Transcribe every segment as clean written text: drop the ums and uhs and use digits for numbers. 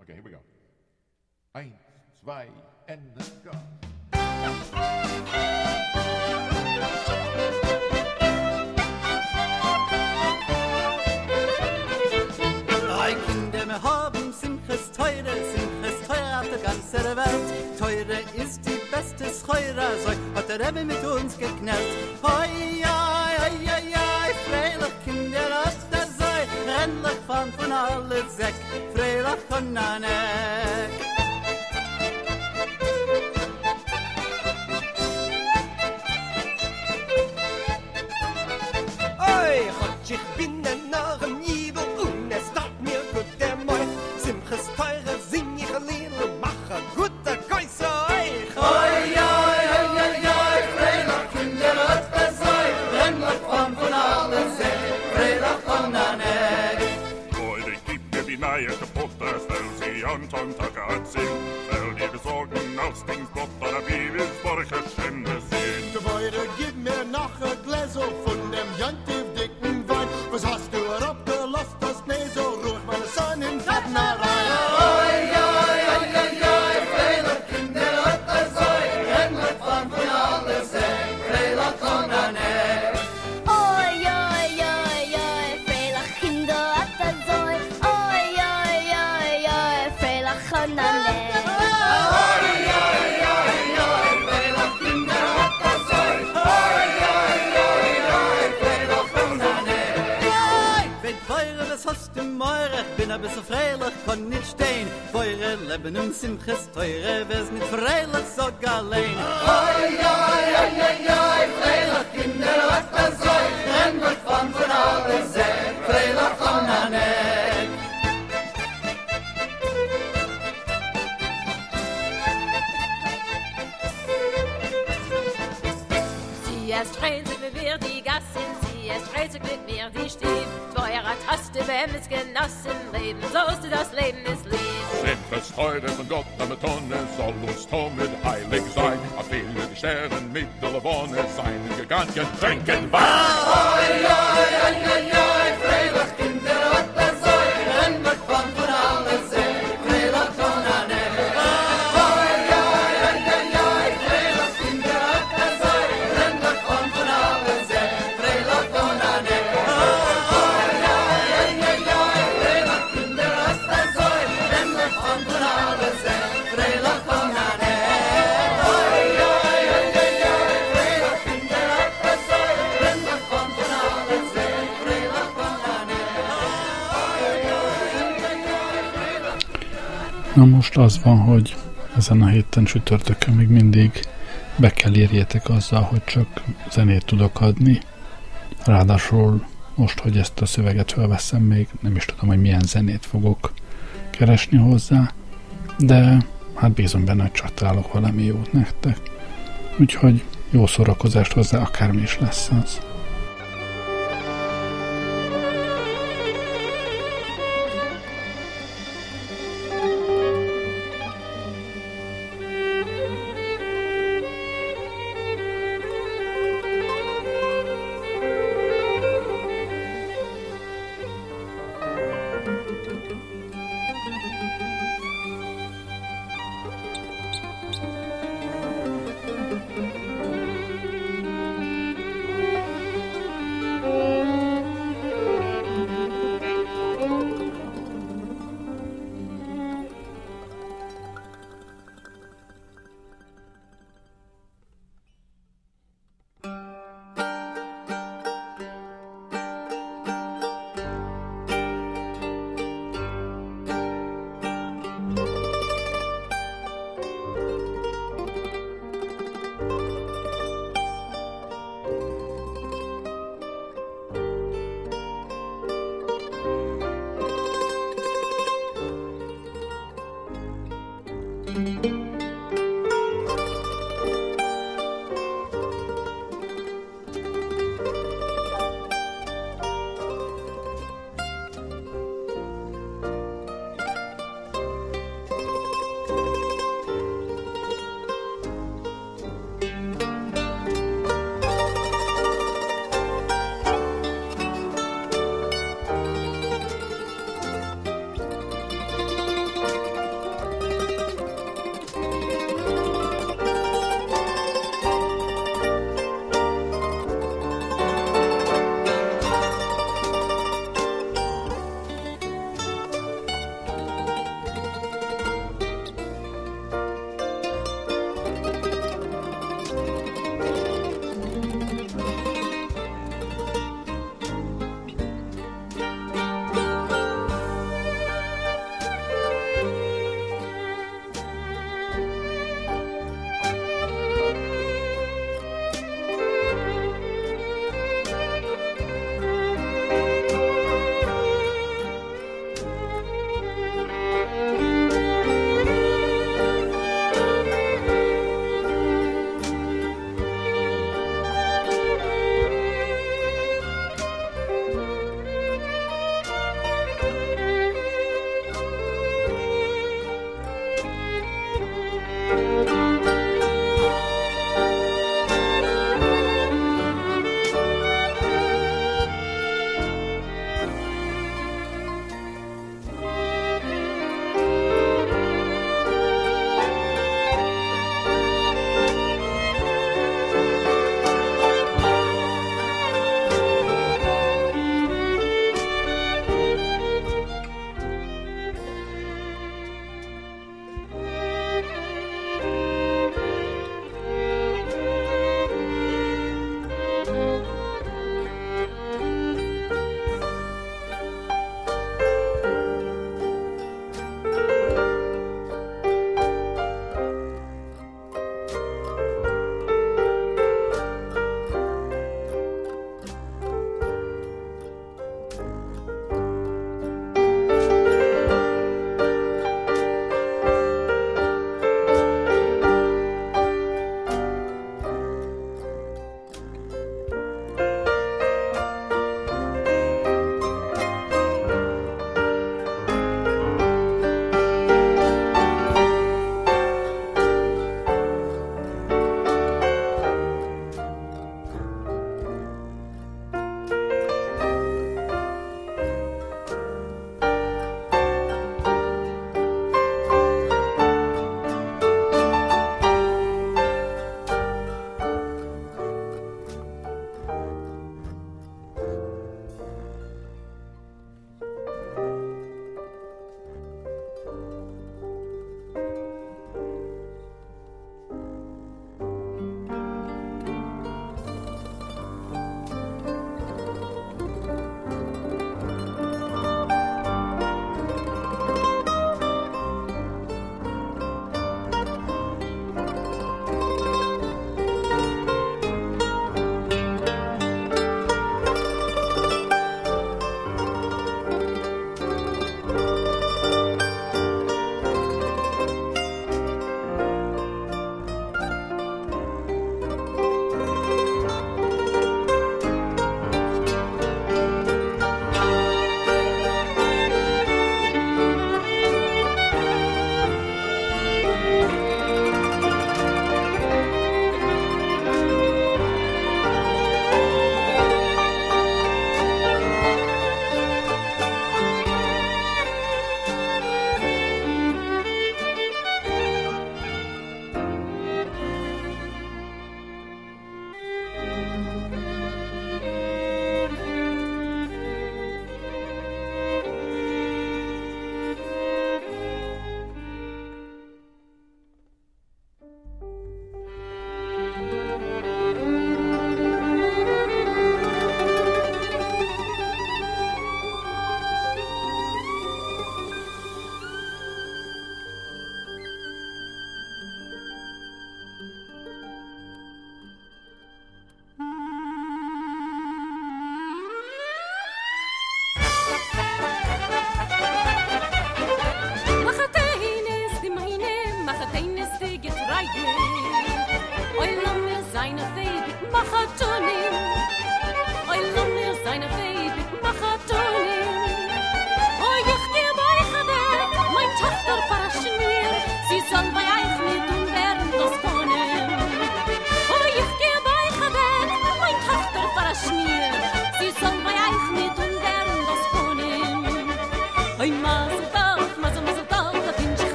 Okay, here we go. 1, 2, Ende, go. Drei Kinder wir haben Simches teure auf der ganzen Welt. Teure ist die beste Scheure, so hat der Rebbe mit uns geknallt. Hoi, hoi, hoi, hoi, hoi, freilich Kinder auf der Sei, endlich von alle Säck, freilich von Nanek. Ich bin ein Narren Jidl und es tat mir gut der Moi. Simches teure sing ich ein Lied und mache gute Geisse euch. Hoi, hoi, hoi, hoi, hoi, freilich Kinder auf der Sei, endlich von alle Säck, freilich von Nanek. Heute gibt mir die neue Kaputte, weil sie an Sonntag sind. Weil die besorgen aus Dingsbott oder Bibelsborche Schände sind. Der Beide gib mir noch ein Gläser von dem Jantiv dicken Wein. Was hast du herabgelost, das nee so ruhig meine Sonne in Taten herein. Hoi, hoi, hoi, hoi, hoi, freilich Kinder auf der Sei, endlich von alle Säck, freilich von Nanek. Oi, oi, oi, oi, freilich Kinder at der Zoi. Oi, oi, oi, oi, freilich von Nanek. Hast du Meure, ich bin ein bisschen freilich, kann nicht stehen. Feure Leben und Simches teure, wär's nicht freilich, sogar allein. Hoi, hoi, hoi, hoi, hoi, freilich Kinder, was das soll, endlich von alle Säck, freilich von Nanek. Sie erst reizig mit mir die Gassen, sie erst reizig mit mir die Stief. Teurer Taste, wenn es genossen leben, so ist das Leben ist lieb. Simches teure von Gott am Tonne soll uns Tomit heilig sein. A viele die Sterne mit der Wonne sein gegangen, trinken Wein. Hoi, hoi, hoi, hoi, hoi, freilich Kinder, was das soll, endlich von alle Säck, freilich von Nanek. Hoi, hoi, hoi, hoi, hoi, freilich Kinder, was das soll, endlich von alle Säck, freilich von Nanek. Hoi, hoi, hoi, hoi, hoi, freilich Kinder, was das soll, endlich von alle Säck, freilich von Nanek. Hoi, hoi, hoi, hoi, hoi, freilich Kinder, was das soll, endlich von alle Säck, freilich von Nanek. Na most az van, hogy ezen a héten csütörtökön még mindig be kell érjétek azzal, hogy csak zenét tudok adni. Ráadásul most, hogy ezt a szöveget felveszem, még nem is tudom, hogy milyen zenét fogok keresni hozzá, de hát bízom benne, hogy csak találok valami jót nektek. Úgyhogy jó szórakozást hozzá, akármi is lesz az.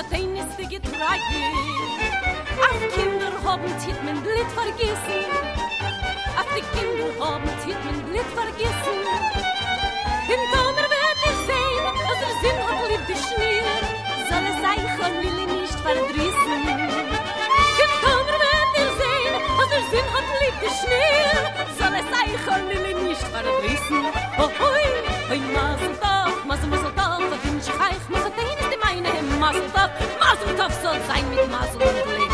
verstehen ist die Getreide. Auf Kinder haben zieht mein Blit vergessen. Auf die Kinder haben zieht mein Blit vergessen. In Tomer wird ich sehen, dass Sinn hat lieb die Schnier. Soll es sein, kann will ich nicht verdrießen. In Tomer wird ich sehen, dass Sinn hat lieb die Schnier. Soll es sein, kann will ich nicht verdrießen. Oh, hoi, hoi, Maseltag, Maseltag, da bin ich reich, Maseltag ist die meine Maseltag. Maseltag soll sein mit Masel und Glück.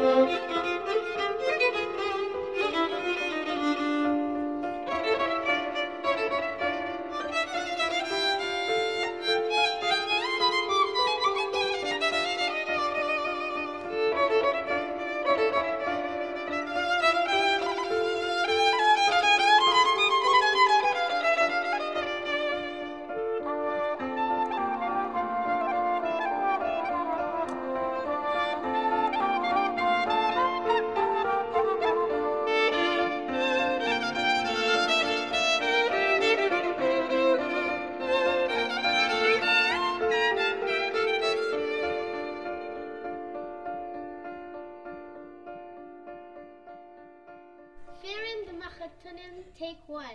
Fearing the Machatunim, take one.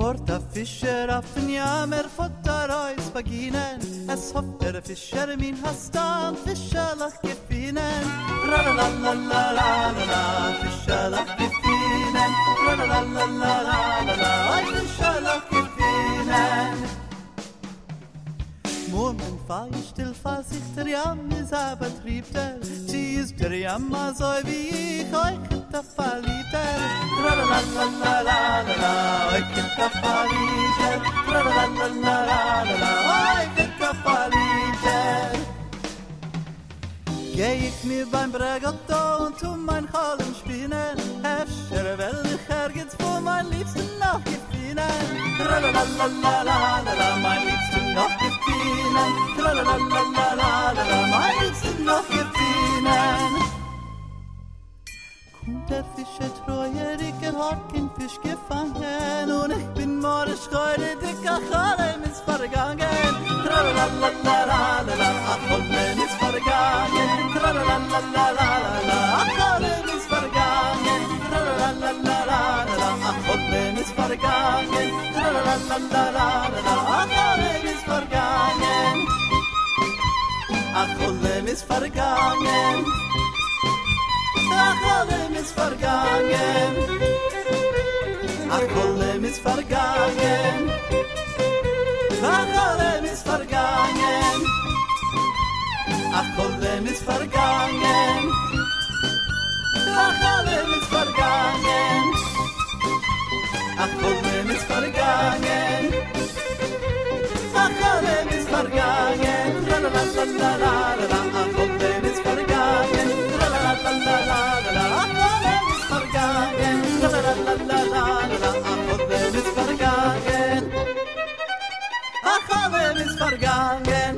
fort der Fischer auf den Jammer Futter aus Vaginen. Es hofft der Fischer min Hastan Fischerlach gefinnen. Tra-la-la-la-la-la-la, Fischerlach gefinnen. Tra-la-la-la-la-la-la, Fischerlach gefinnen. Moment war ich still fast, der Jam ist aber triebter. Sie ist der Jammer so wie ich, euch da verliebter. Tra-la-la-la-la-la-la, euch da verliebter. Tra-la-la-la-la-la-la, euch da verliebter. Geh ich mir beim Bregotto und tu mein Hallen spinnen. Hefscher will ich ergens vor mein Liebsten noch gefinnen. Tra-la-la-la-la-la-la, mein Liebsten noch gefinnen. Tra-la-la-la-la-la-la, mein Liebsten noch gefinnen. Kommt der Fischer treuer, ich hat kein Fisch gefangen. Und ich bin morgens heute dicker Chalem ist vergangen. Tra-la-la-la-la-la-la, ach Chalem ist vergangen. Tra-la-la-la-la-la-la, ach Chalem ist vergangen. Tra-la-la-la-la-la, ach Chalem ist vergangen. Tra-la-la-la-la-la, ach Chalem ist vergangen. Ach Chalem ist vergangen. Ach Chalem ist vergangen. Ach Chalem ist vergangen. Ach Chalem ist vergangen. Ach Chalem ist vergangen. Ach Chalem ist vergangen. Ach Chalem ist vergangen. Ach Chalem ist vergangen. La la la la la la. Ach Chalem ist vergangen. La la la la la la. Ach Chalem ist vergangen. La la la la la la. Ach Chalem ist vergangen. Ach Chalem ist vergangen.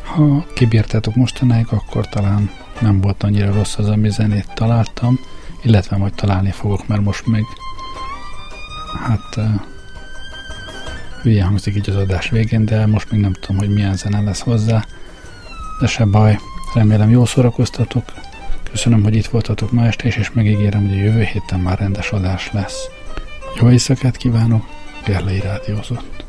Ha kibírtátok mostanáig, akkor talán nem volt annyira rossz az, ami zenét találtam, illetve majd találni fogok, mert most meg hülye hangzik így az adás végén, de most még nem tudom, hogy milyen zene lesz hozzá, de se baj, remélem jól szórakoztatok, köszönöm, hogy itt voltatok ma este is, és megígérem, hogy a jövő héten már rendes adás lesz. Jó éjszakát kívánok, Gerlei rádiózott.